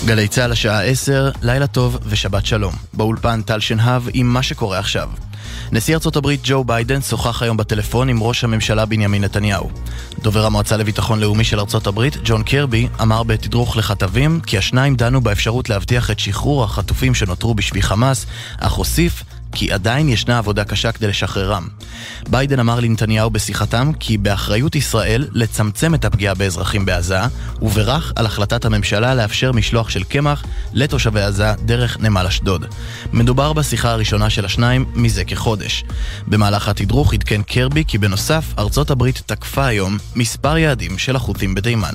גלי צהל השעה 10, לילה טוב ושבת שלום. באולפן טל שנהב עם מה שקורה עכשיו. נשיא ארצות הברית ג'ו ביידן שוחח היום בטלפון עם ראש הממשלה בנימין נתניהו. דובר המועצה לביטחון לאומי של ארצות הברית, ג'ון קרבי, אמר בתדרוך לכתבים כי השניים דנו באפשרות להבטיח את שחרור החטופים שנותרו בשבי חמאס, אך הוסיף כי עדיין ישנה עבודה קשה כדי לשחררם. ביידן אמר לנתניהו בשיחתם כי באחריות ישראל לצמצם את הפגיעה באזרחים בעזה, וברך על החלטת הממשלה לאפשר משלוח של קמח לתושבי עזה דרך נמל אשדוד. מדובר בשיחה הראשונה של השניים מזה כחודש. במהלך התדרוך עדכן קרבי כי בנוסף ארצות הברית תקפה היום מספר יעדים של החות'ים בתימן.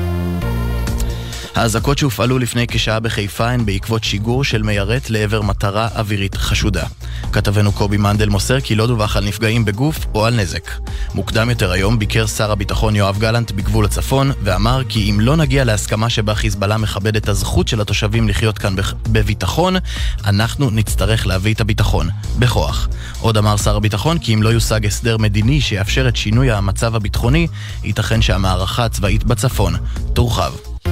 האזעקות שהופעלו לפני כשעה בחיפה הן בעקבות שיגור של מיירט לעבר מטרה אווירית חשודה. כתבנו קובי מנדל מוסר כי לא דווח על נפגעים בגוף או על נזק. מוקדם יותר היום ביקר שר הביטחון יואב גלנט בגבול הצפון ואמר כי אם לא נגיע להסכמה שבה חיזבאללה מכבד את הזכות של התושבים לחיות כאן בביטחון, אנחנו נצטרך להביא את הביטחון בכוח. עוד אמר שר הביטחון כי אם לא יושג הסדר מדיני שיאפשר את שינוי המצב הביטחוני, ייתכן שהמערכה הצבאית בצפון תורחב.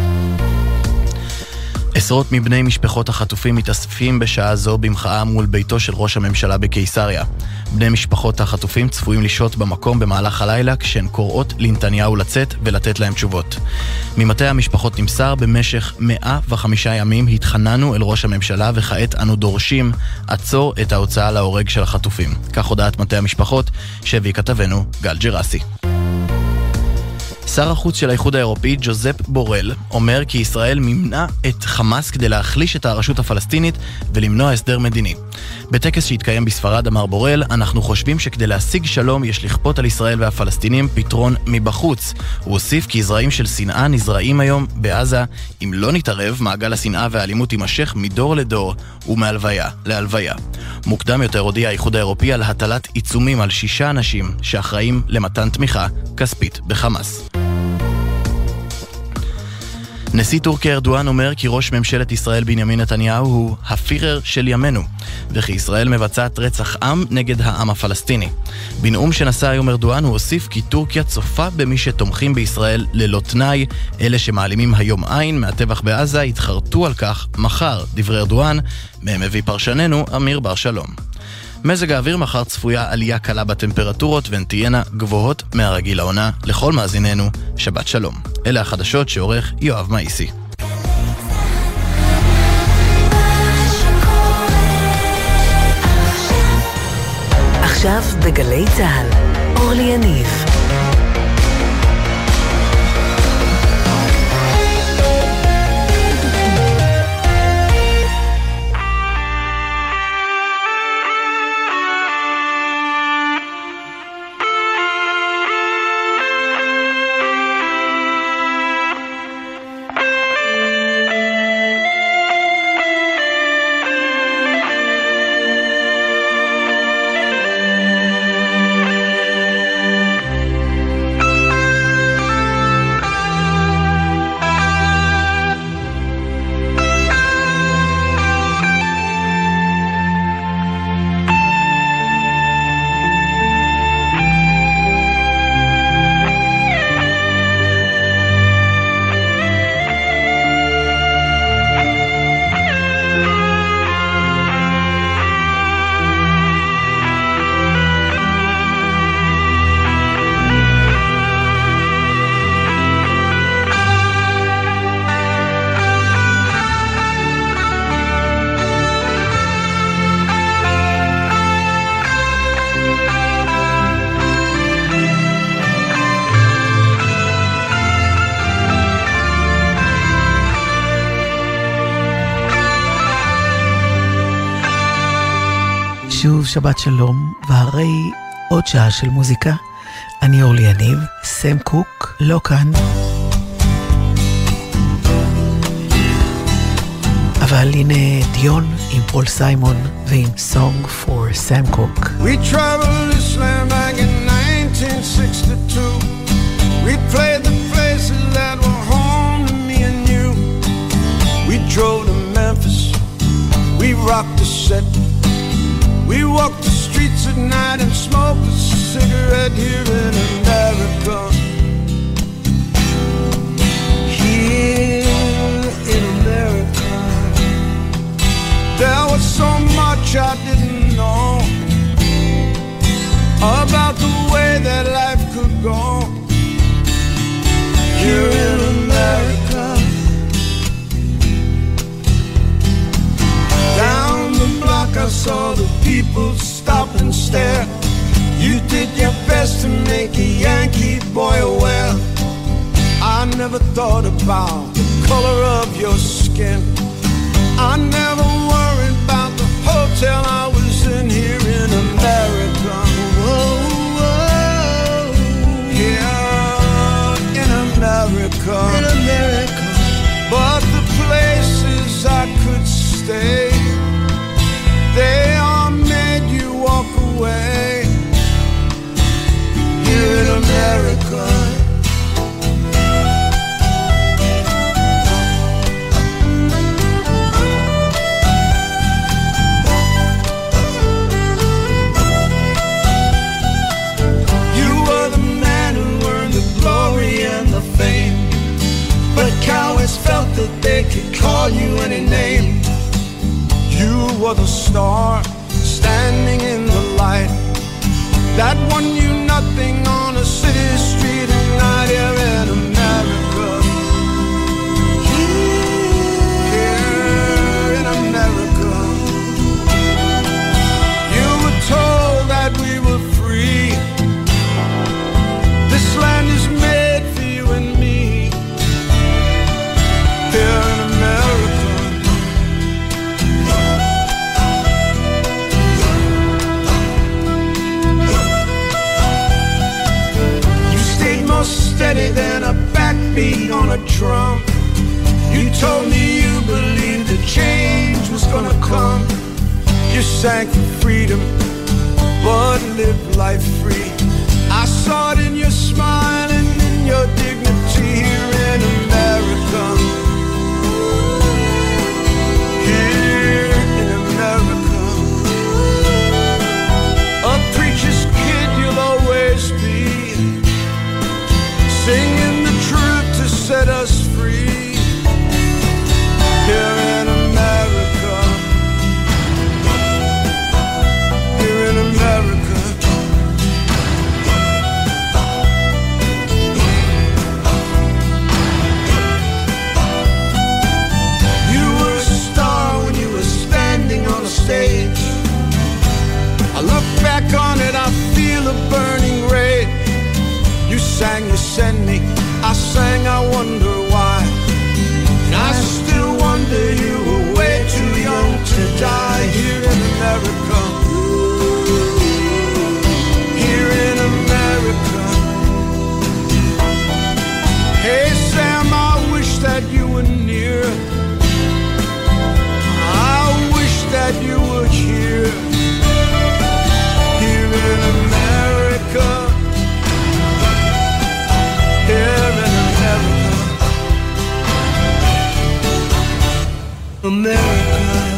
עשרות מבני משפחות החטופים מתאספים בשעה זו במחאה מול ביתו של ראש הממשלה בקיסריה. בני משפחות החטופים צפויים לשהות במקום במהלך הלילה כשהן קוראות לנתניהו לצאת ולתת להם תשובות. ממטה המשפחות נמסר במשך 105 ימים התחננו אל ראש הממשלה וכעת אנו דורשים עצור את ההוצאה להורג של החטופים. כך הודעת מטה המשפחות שהביא כתבנו גל ג'רסי. שר החוץ של האיחוד האירופי, ג'וזפ בורל, אומר כי ישראל מימנה את חמאס כדי להחליש את הרשות הפלסטינית ולמנוע הסדר מדיני. בטקס שהתקיים בספרד אמר בורל, אנחנו חושבים שכדי להשיג שלום יש לכפות על ישראל והפלסטינים פתרון מבחוץ. הוא הוסיף כי זרעים של שנאה נזרעים היום בעזה. אם לא נתערב, מעגל השנאה והאלימות יימשך מדור לדור ומהלוויה להלוויה. מוקדם יותר הודיע האיחוד האירופי על הטלת עיצומים על 6 אנשים שאחראים למתן תמיכה כספית בחמאס. נשיא טורקיה ארדואן אומר כי ראש ממשלת ישראל בנימין נתניהו הוא הפירר של ימינו, וכי ישראל מבצעת רצח עם נגד העם הפלסטיני. בנאום שנשא היום ארדואן הוא הוסיף כי טורקיה צופה במי שתומכים בישראל ללא תנאי, אלה שמעלימים היום עין מהטבח בעזה יתחרטו על כך מחר, דברי ארדואן, מהם מביא פרשננו אמיר בר שלום. מזג האוויר מחר צפויה עלייה קלה בטמפרטורות והן תהיינה גבוהות מהרגיל לעונה. לכל מאזיננו, שבת שלום. אלה החדשות שעורך יואב מאיסי. עכשיו בגלי צהל, אורלי יניב. שוב שבת שלום, והרי עוד שעה של מוזיקה. אני אורלי יניב, סם קוק לא כאן, אבל הנה דיון עם פול סיימון ועם Song for Sam Cooke. We traveled Islam back in 1962. We played the places that were home to me and you. We drove to Memphis, we rocked the set. We walked the streets at night and smoked a cigarette here in America. Here in America. never thought about the color of your skin. I never worried about the hotel I was in here in America. Whoa, whoa. Here in America. In America. But the places I could stay, they all made you walk away. Here in America. Cowards felt that they could call you any name. You were the star standing in the light that won you nothing on a city street at night here in America. Here in America. You were told that we were free. This land is made for you and me. Here in America. You stayed more steady than a backbeat on a drum. You told me you believed the change was gonna come. You sang for freedom, but lived life free. I saw it in your smile and in your dignity here in America. Here in America. A preacher's kid you'll always be, singing the truth to set us free. Here in America. Here in America. Stage. I look back on it, I feel a burning rage. You sang, you sent me, I sang, I wonder why. And I still wonder you were way too young to die. Here in America. Here in America. Hey Sam, I wish that you were near. That you were here, here in America, here in America, America,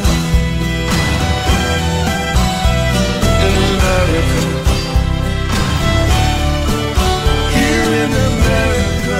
in America, here in America.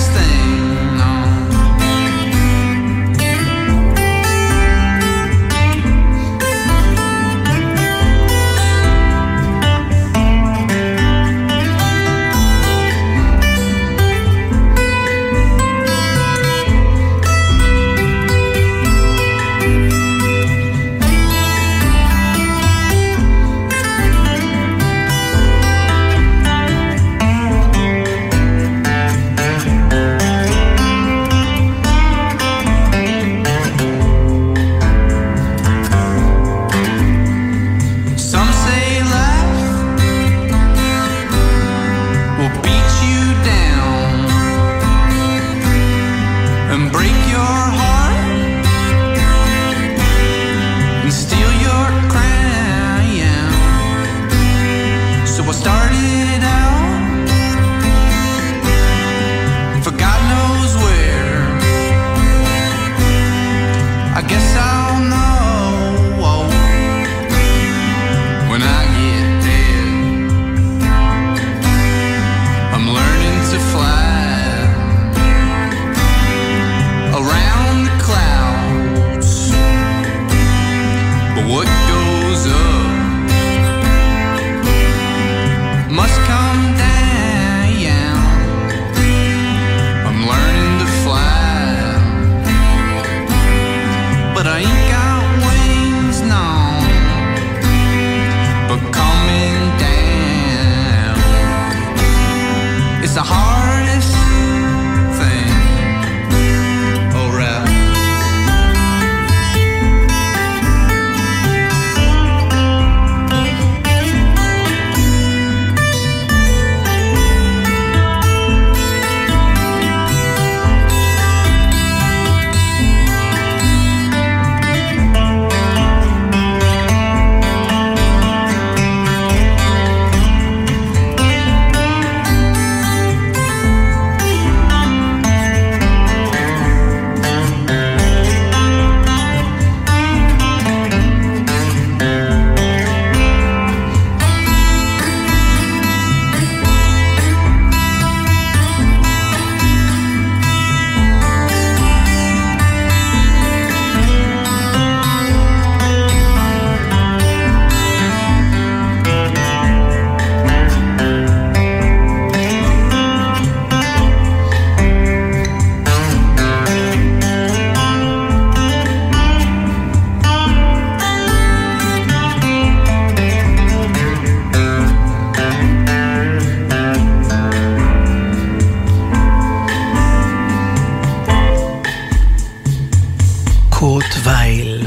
קורט וייל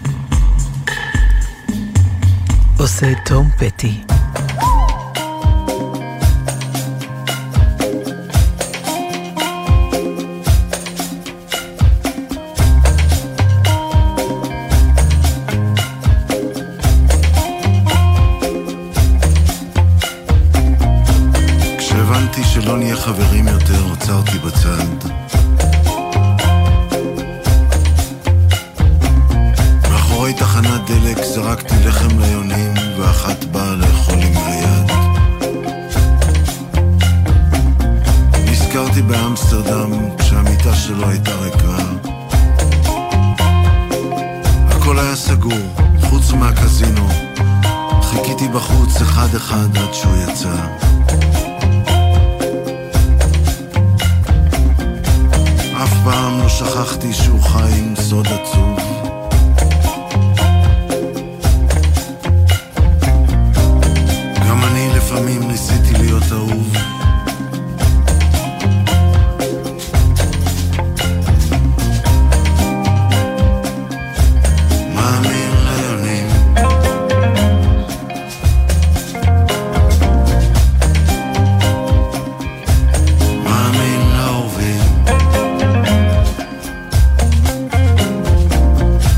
עושה תום פטי. כשהבנתי שלא נהיה חברים יותר, עצרתי בצד. מאחורי תחנת דלק זרקתי לחם ליונים, ואחת באה לאכול עם היד. נזכרתי באמסטרדם כשהמיטה שלו הייתה ריקה. הכל היה סגור, חוץ מהקזינו. חיכיתי בחוץ אחד אחד עד שהוא יצא. אף פעם לא שכחתי שהוא חי עם סוד עצוב. גם אני לפעמים ניסיתי להיות אהוב. מאמין ליונים, מאמין לאהובים.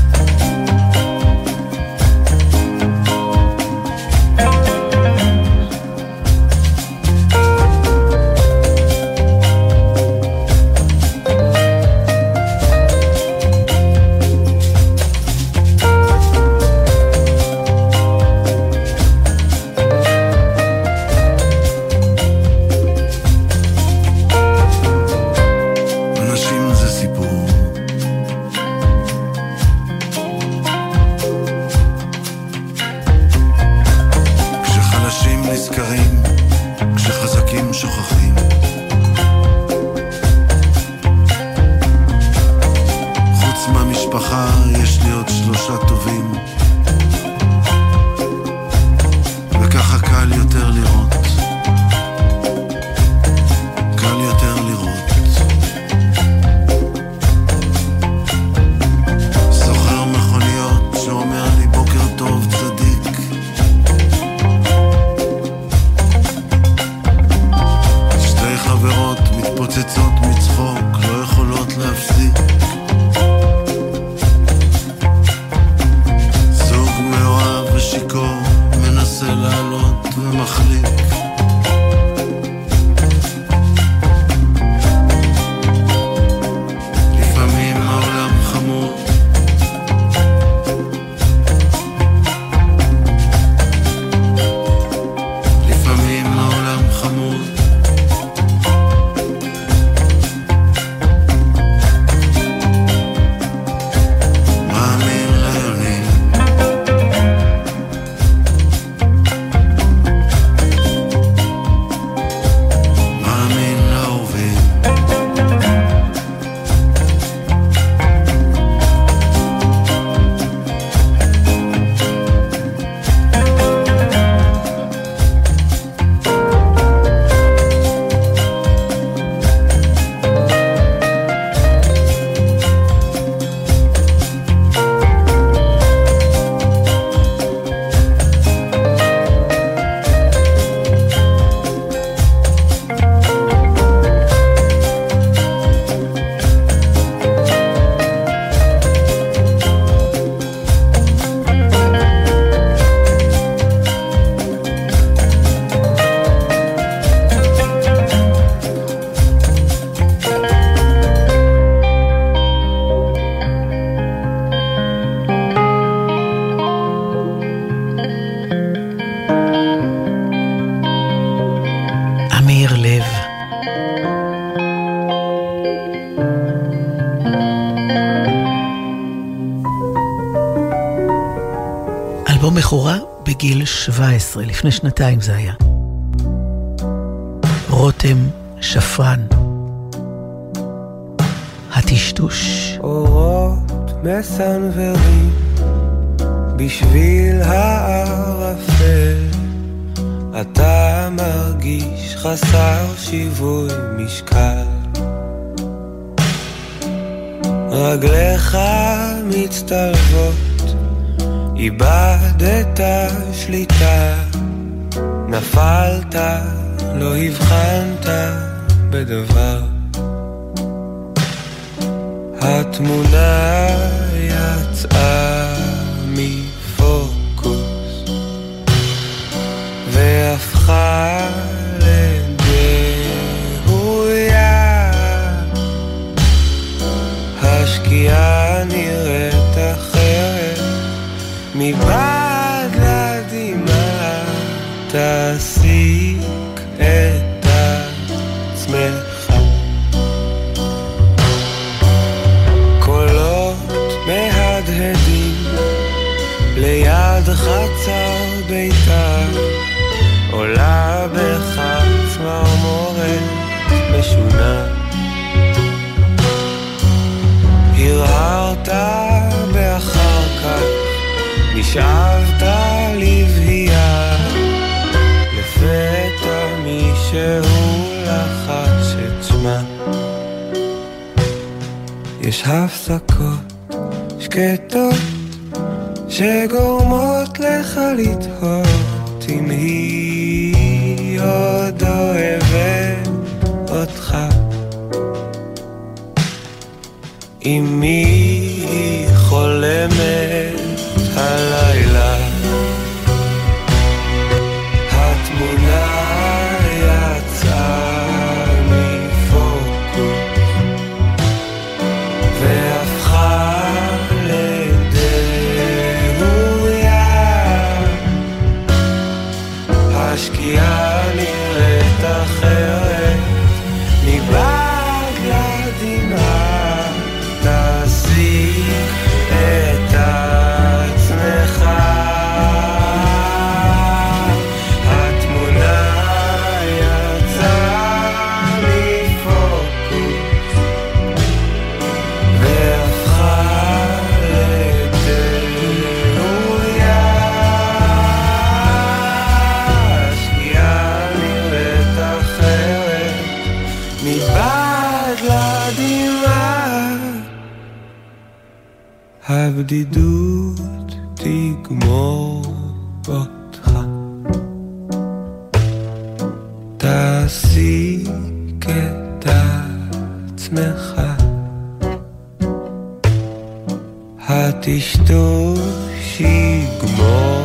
אלבום בכורה בגיל 17, לפני שנתיים זה היה. רותם שפרן. הטשטוש. אורות מסנוורים בשביל הערפל, אתה מרגיש חסר שיווי משקל, רגליך מצטלבות, איבדת שליטה, נפלת, לא הבחנת בדבר, התמונה יצאה מפוקוס והפכה לדהויה, השקיעה נראית אחרת מבעד לדמעה, תסיק את עצמך, קולות מהדהדים ליד חצר ביתה, עולה בך צמרמורת משונה, הרהרת באחר כך, נשאבת לבהייה, לפתע מישהו לחץ את שמה, יש הפסקות שקטות שגורמות לך לתהות אם היא עוד אוהבת אותך, אם היא חולמת הלילה, התמונה יצאה מפוקוס והפכה לדהויה, השקיעה נראית אחרת מבעד לדמעה, תסיק את עצמך, התמונה יצאה מפוקוס והפכה לדהויה, השקיעה נראית אחרת מבעד לדמעה, הבדידות תגמור אותך, תסיק את עצמך, הטשטוש יגמור.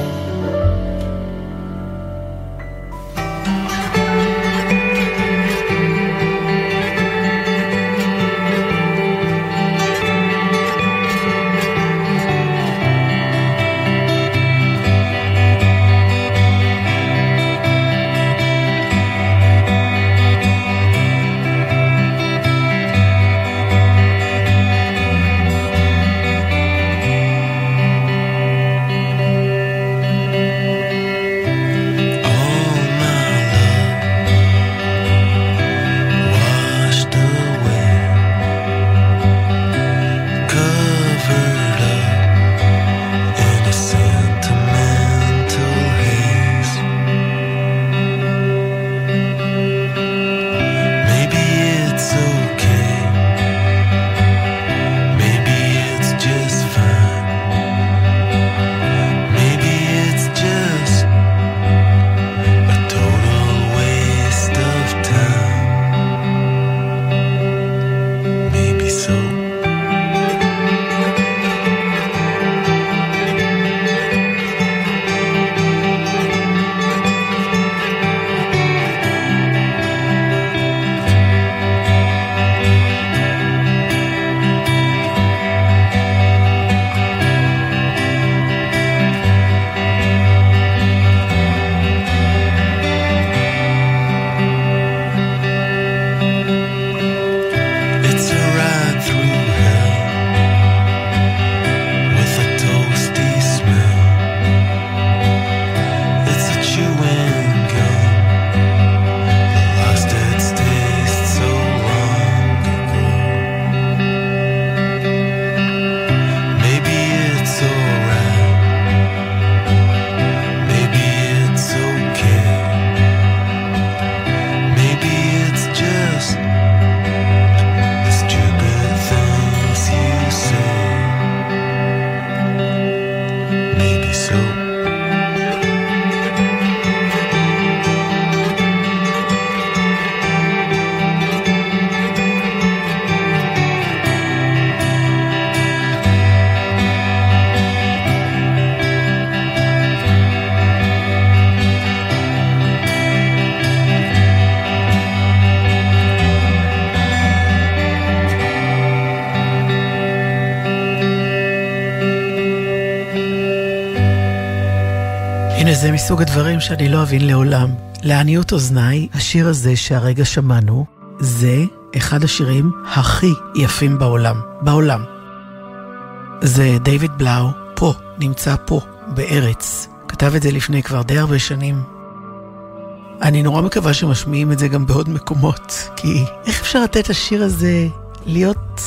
וזה מסוג הדברים שאני לא אבין לעולם. לעניות אוזניי, השיר הזה שהרגע שמענו, זה אחד השירים הכי יפים בעולם. בעולם. זה דיוויד בלאו, פה, נמצא פה, בארץ. כתב את זה לפני כבר די הרבה שנים. אני נורא מקווה שמשמיעים את זה גם בעוד מקומות, כי איך אפשר לתת את השיר הזה להיות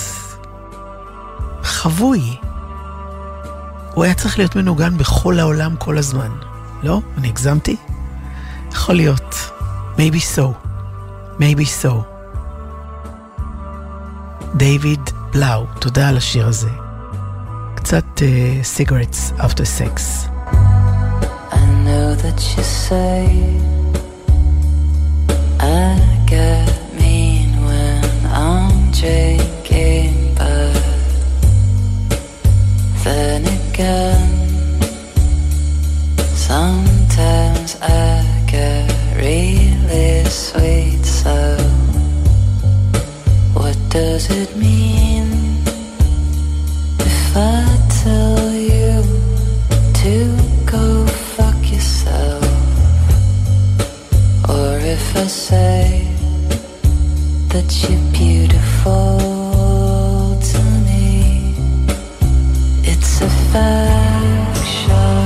חבוי? הוא היה צריך להיות מנוגן בכל העולם כל הזמן. לא? אני הגזמתי? יכול להיות. Maybe so. Maybe so. דיוויד בלאו, תודה על השיר הזה. קצת cigarettes after sex. I know that you say I get mean when I'm drinking, but then again sometimes I get really sweet. So what does it mean if I tell you to go fuck yourself? Or if I say that you're beautiful to me? It's a faction,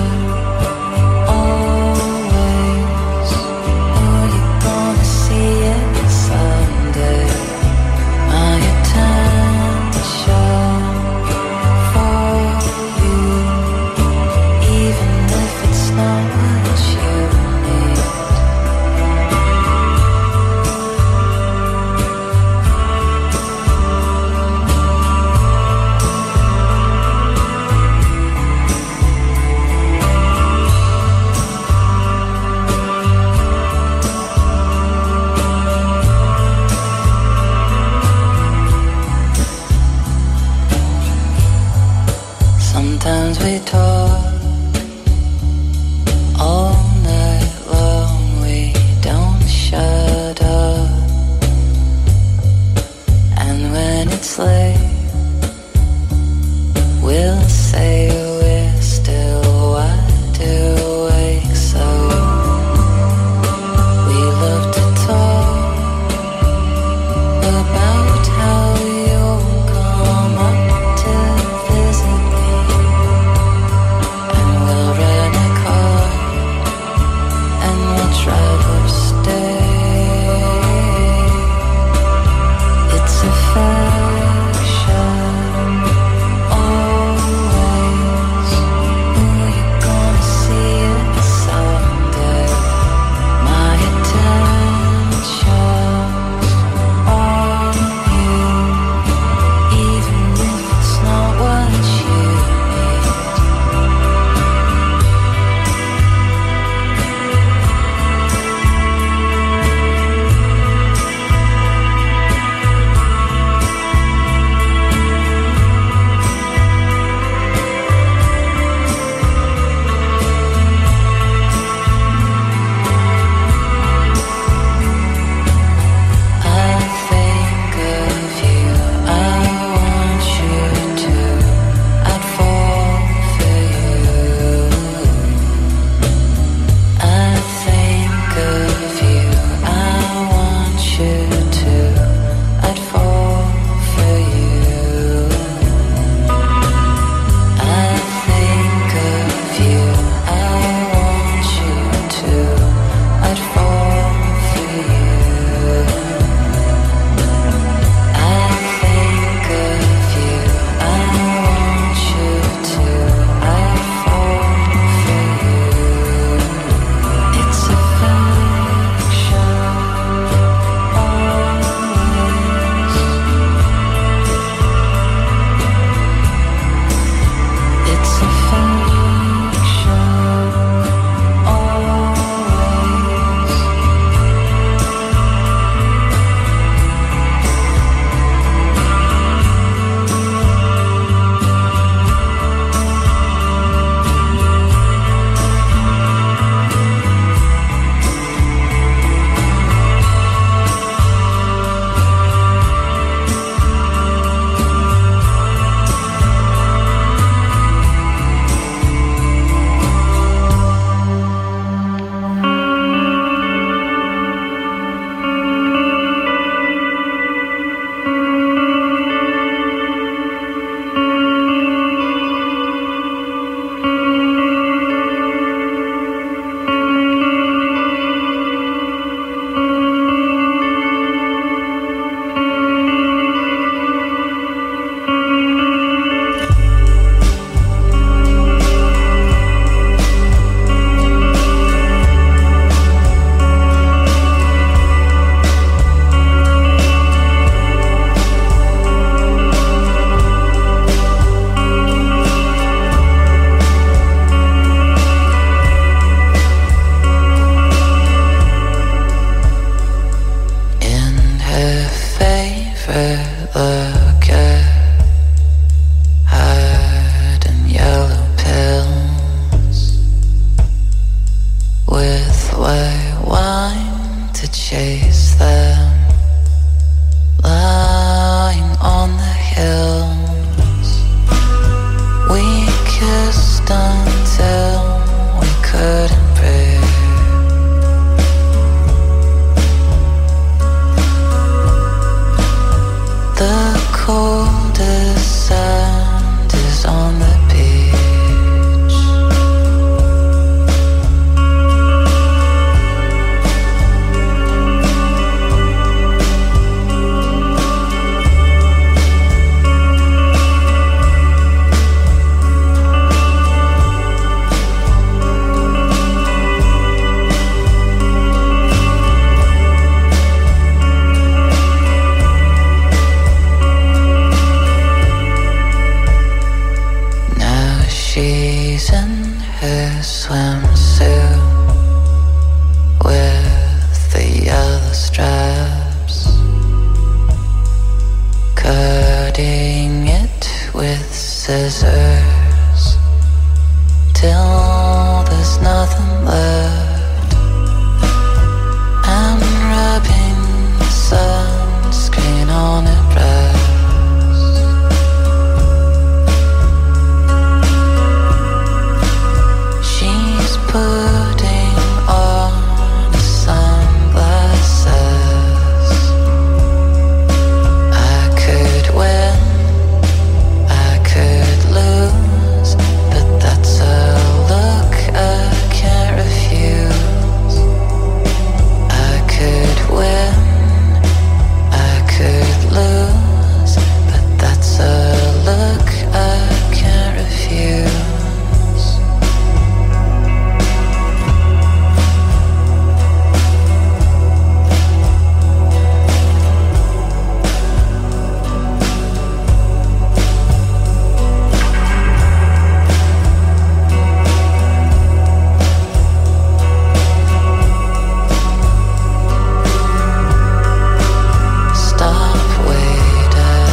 always. Or you're gonna see it someday. My attention for you, even if it's not what you need. Sometimes we talk all night long, we don't shut up. And when it's late, we'll say we're still wide awake. So we love to talk about how you'll come up to visit me. We'll rent a car and we'll drive upstate. It's a faction, always. swimsuit with the yellow stripes, cutting it with scissors till there's nothing left. I'm rubbing sunscreen on her breast. She's putting on sunglasses. I could win, I could lose, but that's a look I can't refuse. I could win, I could lose, but that's a look I can't refuse. Stop waiting.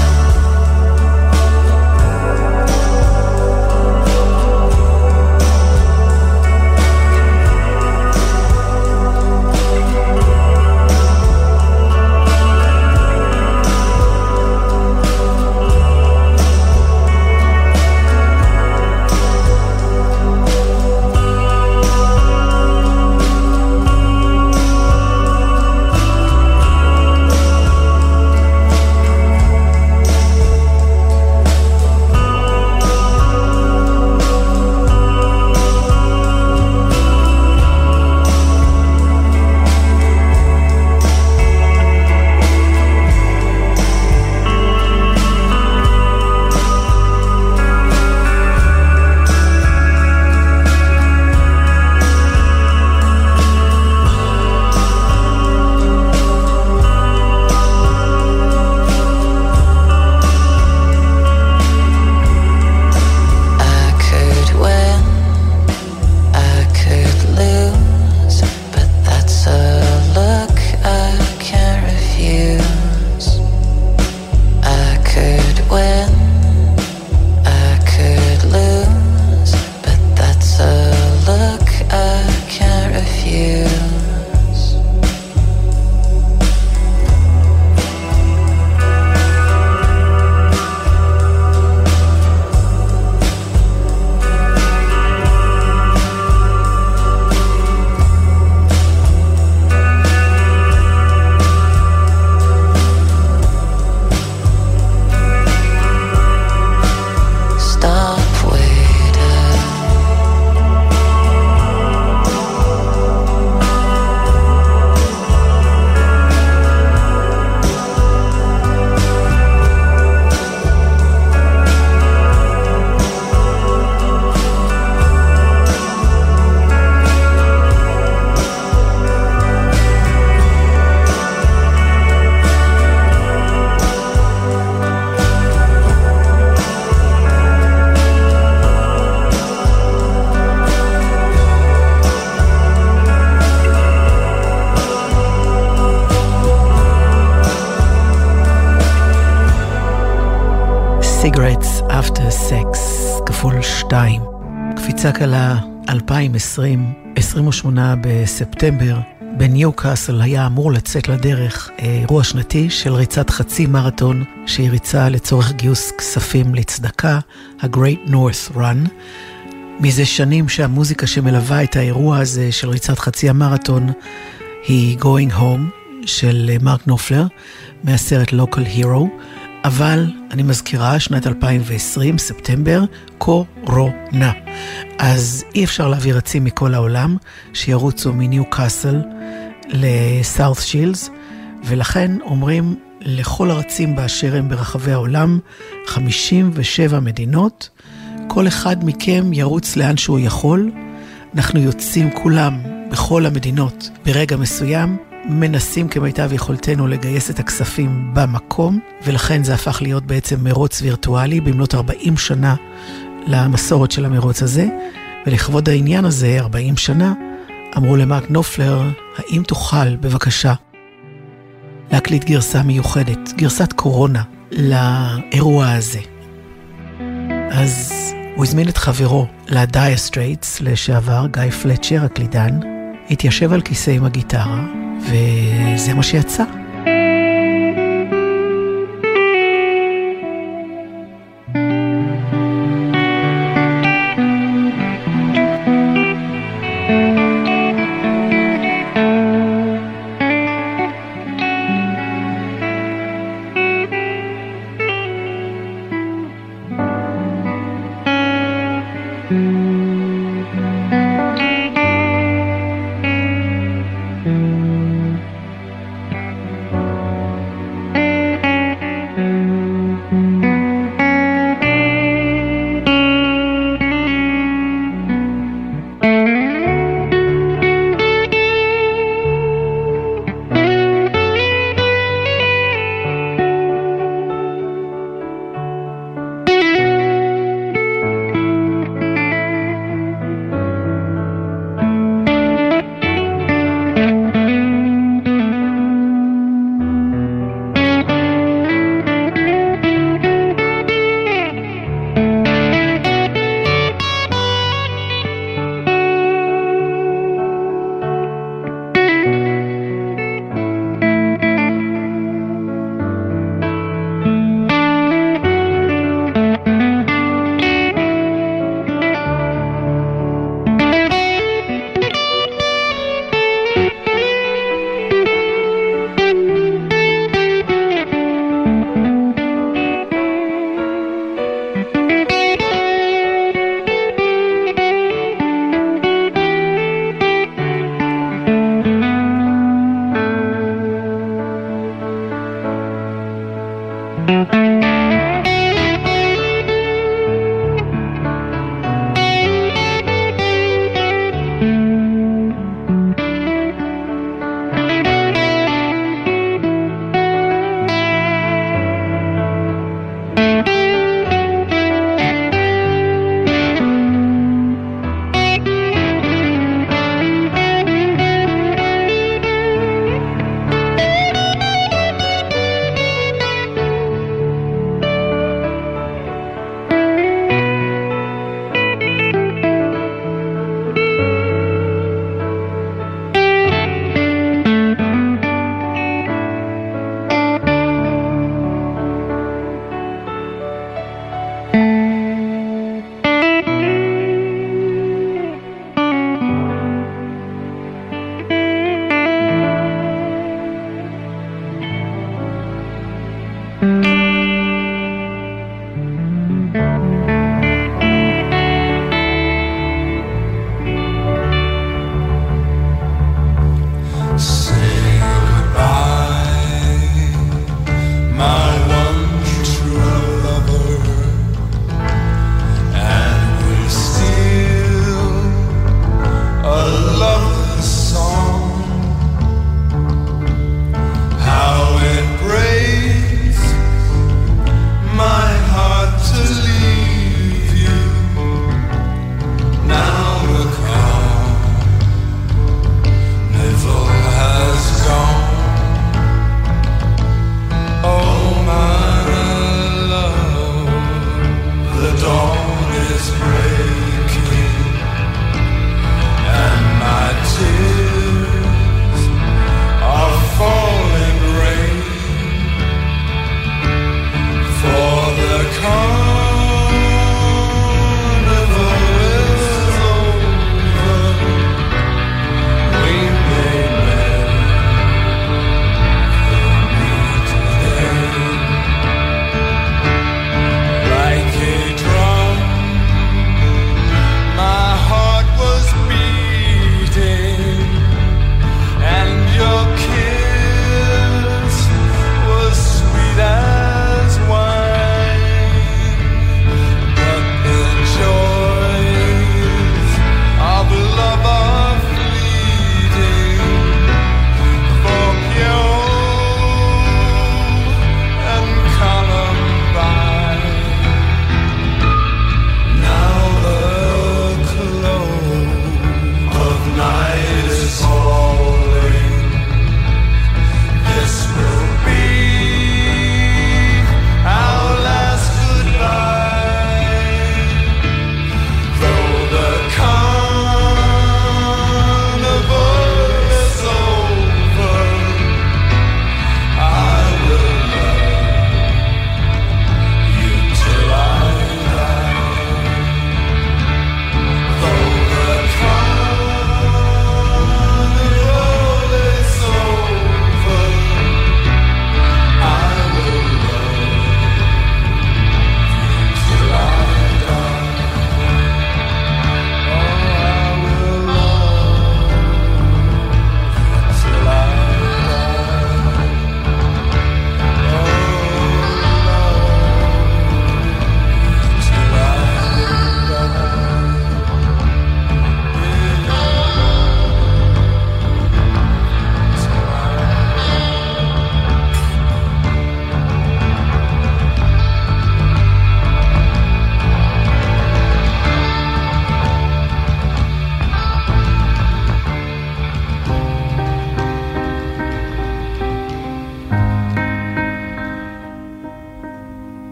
I could win, I could lose, but that's a look I can't refuse. I could win, I could lose, but that's a look I can't refuse. Stop waiting. Cigarettes After Sex כפול 2. קפיצה קלה 2020, 28 בספטמבר. בניוקאסל היה אמור לצאת לדרך אירוע שנתי של ריצת חצי מרתון שהיא ריצה לצורך גיוס כספים לצדקה, ה-Great North Run. מזה שנים שהמוזיקה שמלווה את האירוע הזה של ריצת חצי המרתון היא Going Home של מרק נופלר מהסרט Local Hero, אבל אני מזכירה שנת 2020, ספטמבר, קורונה. אז אי אפשר להביא רצים מכל העולם שירוצו מניוקאסל לסאות' שילס, ולכן אומרים לכל הרצים באשר הם ברחבי העולם, 57 מדינות, כל אחד מכם ירוץ לאן שהוא יכול. אנחנו יוצאים כולם בכל המדינות ברגע מסוים, מנסים כמיטב יכולתנו לגייס את הכספים במקום, ולכן זה הפך להיות בעצם מרוץ וירטואלי במלאת 40 שנה למסורת של המרוץ הזה. ולכבוד העניין הזה, 40 שנה, אמרו למרק נופלר, האם תוכל בבקשה להקליט גרסה מיוחדת, גרסת קורונה, לאירוע הזה. אז הוא הזמין את חברו לדאיר סטרייטס לשעבר, גיא פלצ'ר, הקלידן, התיישב על כיסא עם הגיטרה, וזה מה שיצא.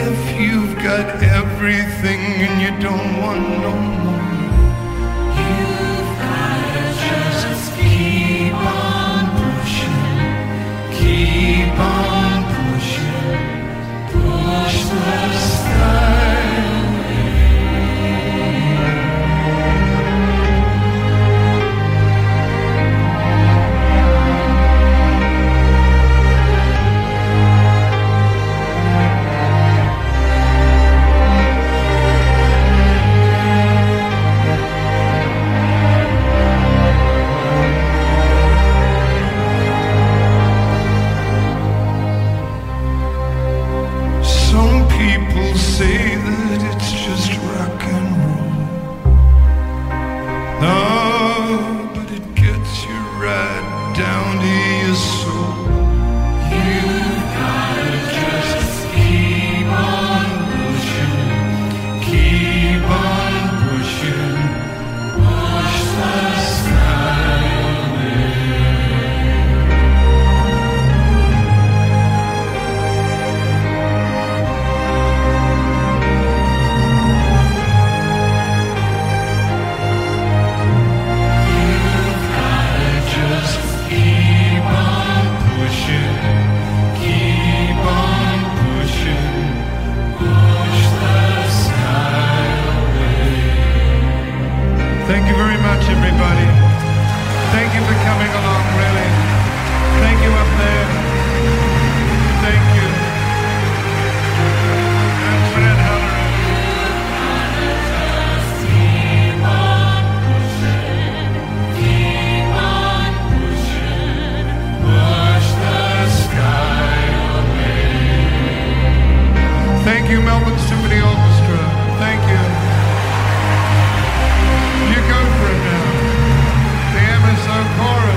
if you've got everything and you don't want no more. You've gotta just keep on pushing, keep on pushing, push the sky. Say that it's just rock and roll. No, but it gets you right down to your soul. You gotta just keep on pushing, keep on pushing, push the sky away. Thank you very much, everybody. Thank you for coming along, really. Thank you up there. Thank you. And Fred Halloran. Keep on pushing, keep on pushing, push the sky away. Thank you, Melbourne Symphony Orchestra. Thank you. You go for it now. The MSO Chorus.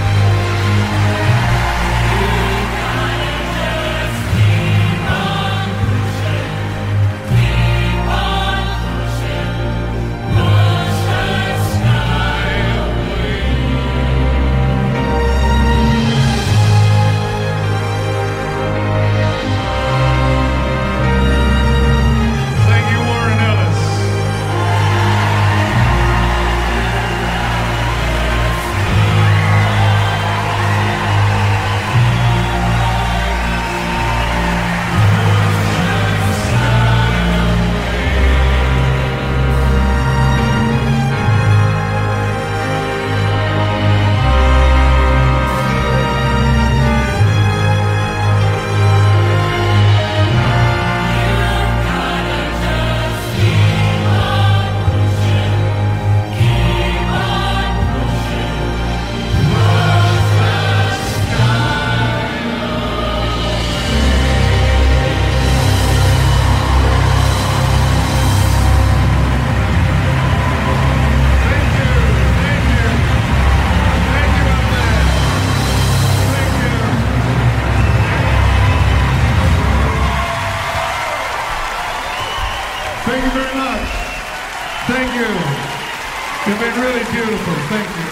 Thank you very much. Thank you. You've been really beautiful. Thank you.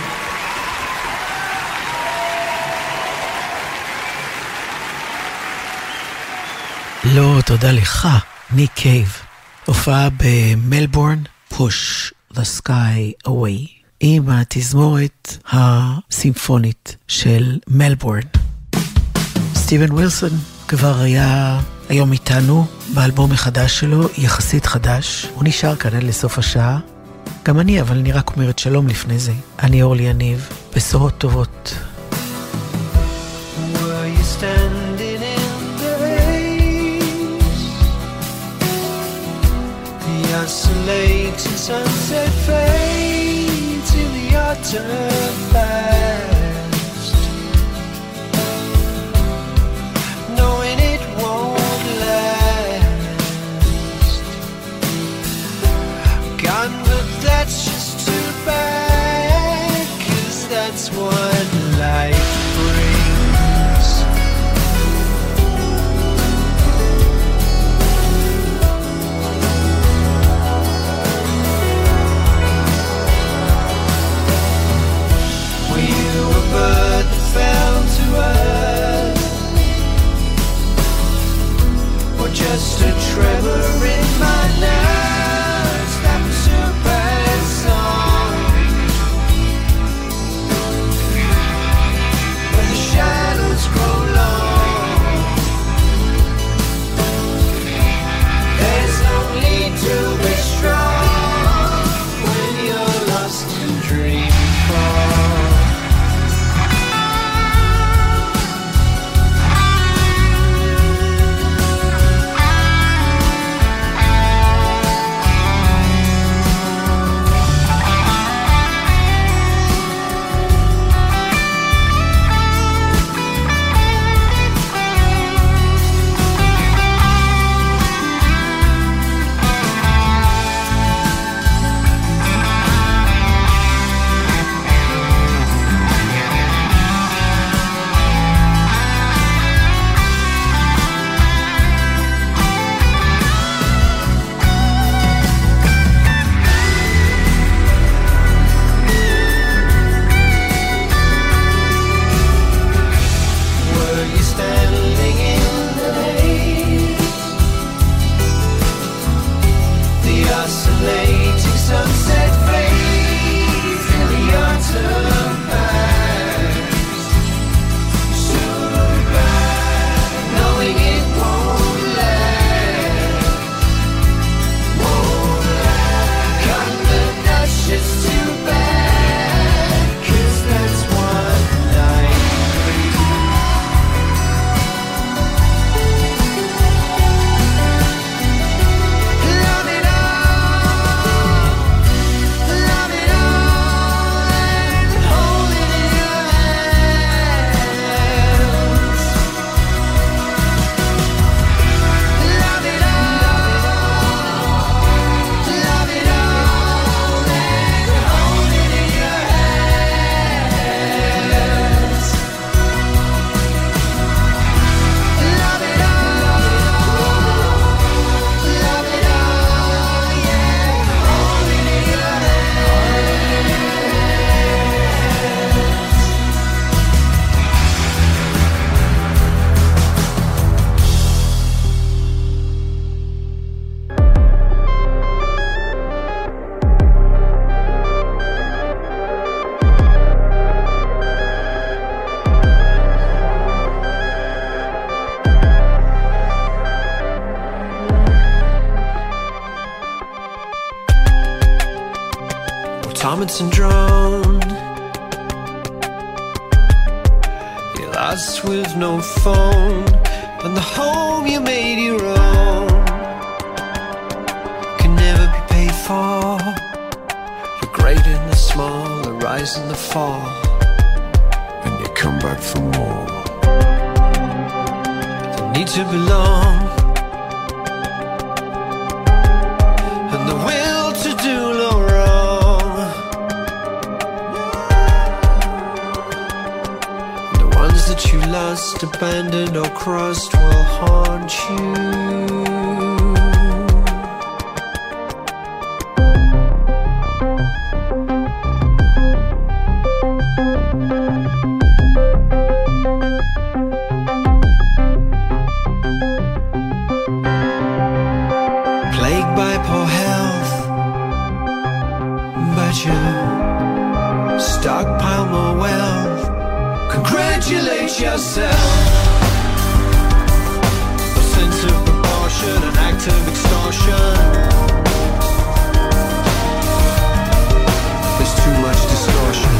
לא, תודה לך, ניק קייב. הופעה במלבורן, Push the Sky Away, עם התזמורת הסימפונית של מלבורן. סטיבן ווילסון כבר היה היום איתנו באלבום החדש שלו, יחסית חדש. הוא נשאר כאן עד לסוף השעה. גם אני, אבל אני רק אומרת שלום לפני זה. אני אורלי יניב, בשורות טובות. Were you standing in the haze? The isolated sunset fades in the autumn past, knowing it won't last. Gone, but that's just too bad, 'cause that's what life brings. We sunset fades in the autumn past. Soon back, knowing it won't last. Won't last. Cutting the nuts just too bad, 'cause that's one night. Love it all, love it all, and hold it in your hands. Love it all, love it all, and hold it in your hands. Love it all, love it all, yeah, hold it in your automaton drone. You're lost with no phone, and the home you made your own can never be paid for. The great and the small, the rise and the fall, and you come back for more. The need to belong, and the will to do no wrong. The ones that you lost, abandoned or crossed will haunt you. Plagued by poor health, but you stockpile more wealth. Congratulate yourself. A sense of proportion, an act of extortion. There's too much distortion.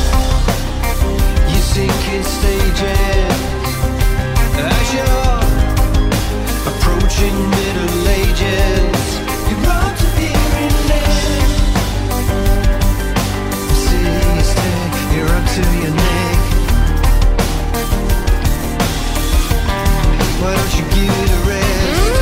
You sink in stages as you're approaching middle ages. You're out to be relieved. See you stay, you're up to your neck. Why don't you give it a rest?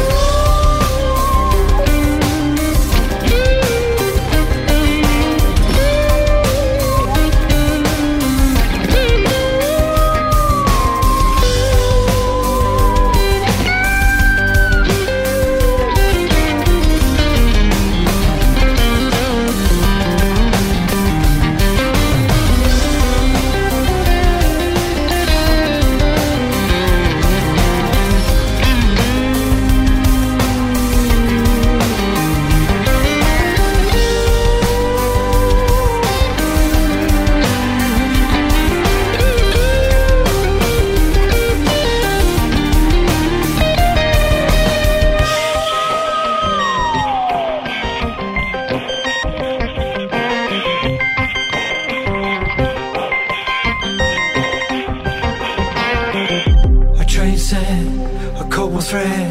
Thread,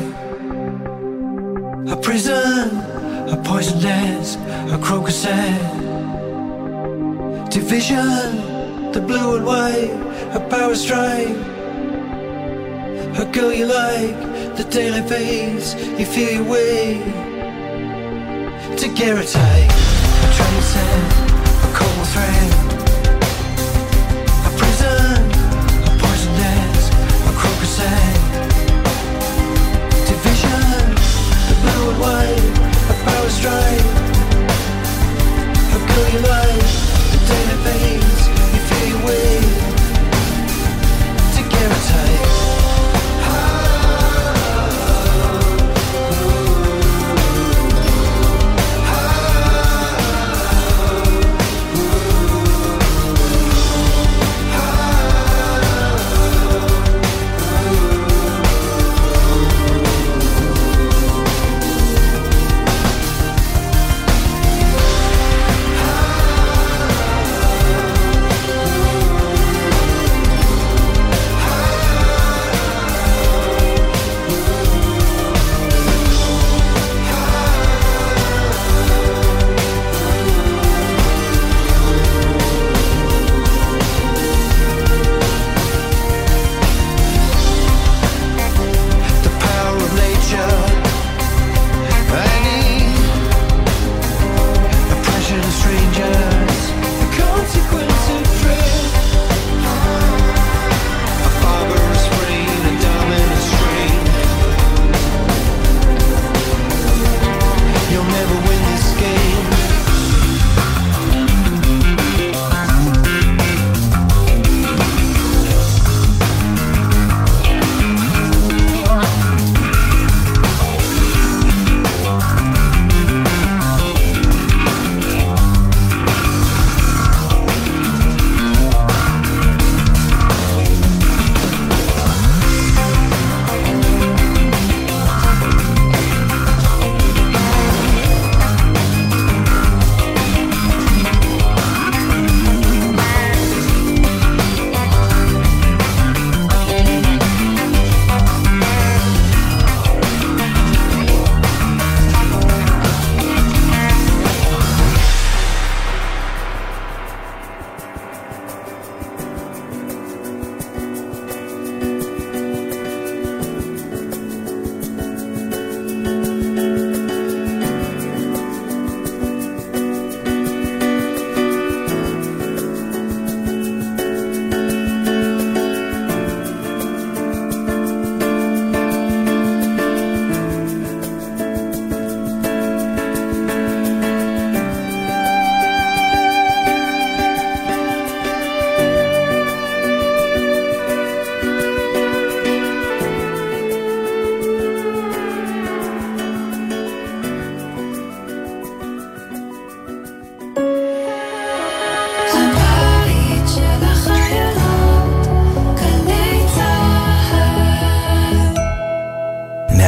a prison, a poison dance, a crocus head, division, the blue and white, a power strike, a girl you like, the daylight fades, you feel your way to get a tight, a train set, a cold thread, a prison, a poison dance, a crocus head, blue and white, a power strike, a girl you like, the day that fades, you feel your way to get a tight.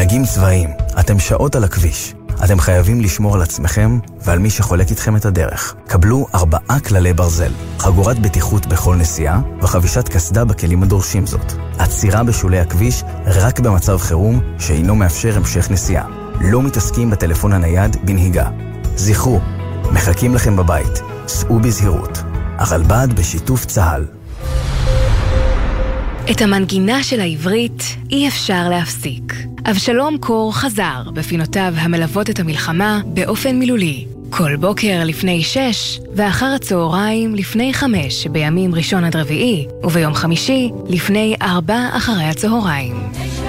נהגים צבאיים, אתם שעות על הכביש. אתם חייבים לשמור על עצמכם ועל מי שחולק איתכם את הדרך. קבלו 4 כללי ברזל, חגורת בטיחות בכל נסיעה וחבישת קסדה בכלים הדורשים זאת. עצירה בשולי הכביש רק במצב חירום שאינו מאפשר המשך נסיעה. לא מתעסקים בטלפון הנייד בנהיגה. זכרו, מחכים לכם בבית, סעו בזהירות. הרלב"ד בשיתוף צה"ל. את המנגינה של העברית אי אפשר להפסיק. אבשלום קור חזר בפינותיו המלוות את המלחמה באופן מילולי. כל בוקר לפני 6 ואחר הצהריים לפני 5 בימים ראשון עד רביעי, וביום חמישי לפני 4 אחרי הצהריים.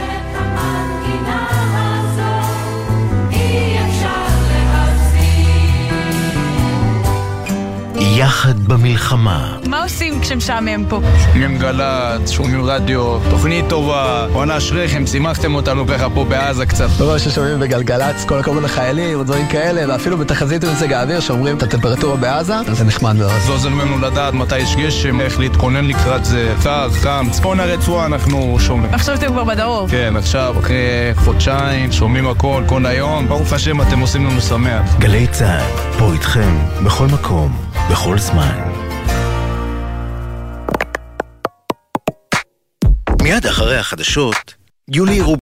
יחד במלחמה. מה עושים כשמשעמם פה? שומעים גל"צ, שומעים רדיו, תוכנית טובה, עונה אשריכם, שימחתם אותנו ככה פה בעזה קצת. לא ששומעים בגלגל"צ, כל הכבוד לחיילים ודברים כאלה, ואפילו בתחזית ומזג האוויר שאומרים את הטמפרטורה בעזה, זה נחמד מאוד. זה עוזר לנו לדעת מתי יש גשם, איך להתכונן לקראת זה, קר, חם, צפון הרצועה אנחנו שומעים. עכשיו אתם כבר בדרום. כן, עכשיו אחרי חודשיים, שומעים הכל, כל היום, ברוך השם אתם עושים לנו שמח. גלי צה"ל, פה איתכם, בכל מקום, בכל זמן. מיד אחרי החדשות, יולי